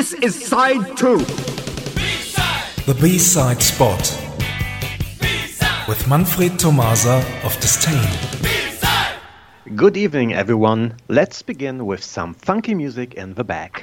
This is side 2. The B-side spot. With Manfred Tomasa of Disdain. Good evening, everyone. Let's begin with some funky music in the back.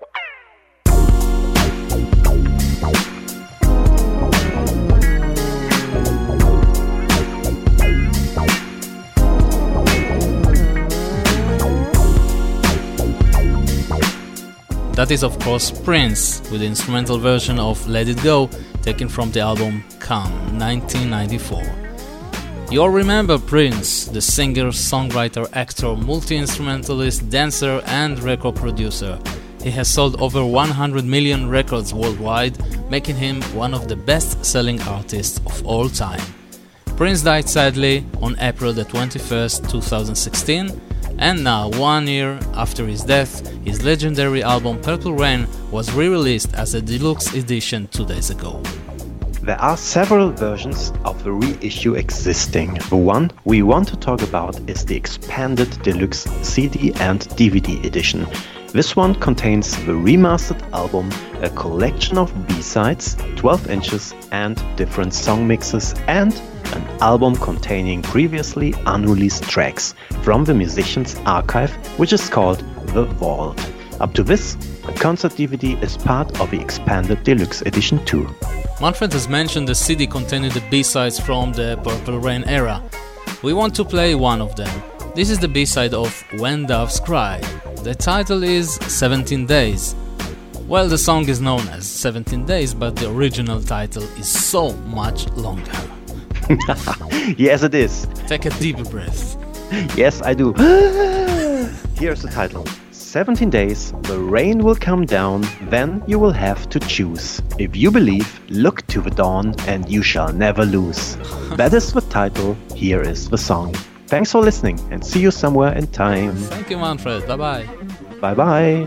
That is, of course, Prince, with the instrumental version of Let It Go, taken from the album Come, 1994. You all remember Prince, the singer, songwriter, actor, multi-instrumentalist, dancer and record producer. He has sold over 100 million records worldwide, making him one of the best-selling artists of all time. Prince died sadly on April the 21st, 2016, and now, 1 year after his death, his legendary album Purple Rain was re-released as a deluxe edition 2 days ago. There are several versions of the reissue existing. The one we want to talk about is the expanded deluxe CD and DVD edition. This one contains the remastered album, a collection of B-sides, 12 inches and different song mixes, and an album containing previously unreleased tracks from the musician's archive, which is called The Vault. Up to this, the concert DVD is part of the expanded deluxe edition too. Manfred has mentioned the CD containing the B-sides from the Purple Rain era. We want to play one of them. This is the B-side of When Doves Cry. The title is 17 Days. Well, the song is known as 17 Days, but the original title is so much longer. Yes, it is. Take a deep breath. Yes, I do. Here's the title. 17 days, the rain will come down, then you will have to choose. If you believe, look to the dawn, and you shall never lose. That is the title, here is the song. Thanks for listening, and see you somewhere in time. Thank you, Manfred. Bye-bye. Bye-bye.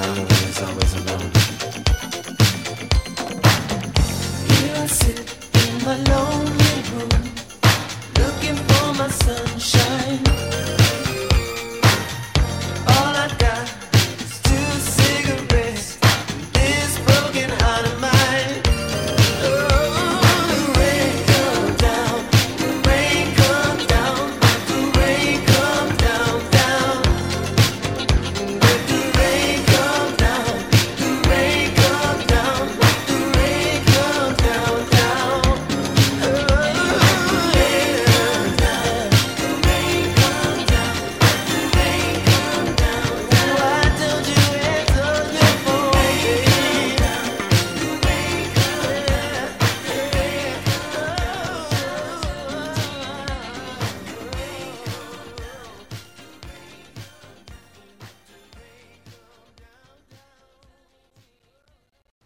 my lover is always alone. Here I sit in my lonely room, looking for my sunshine.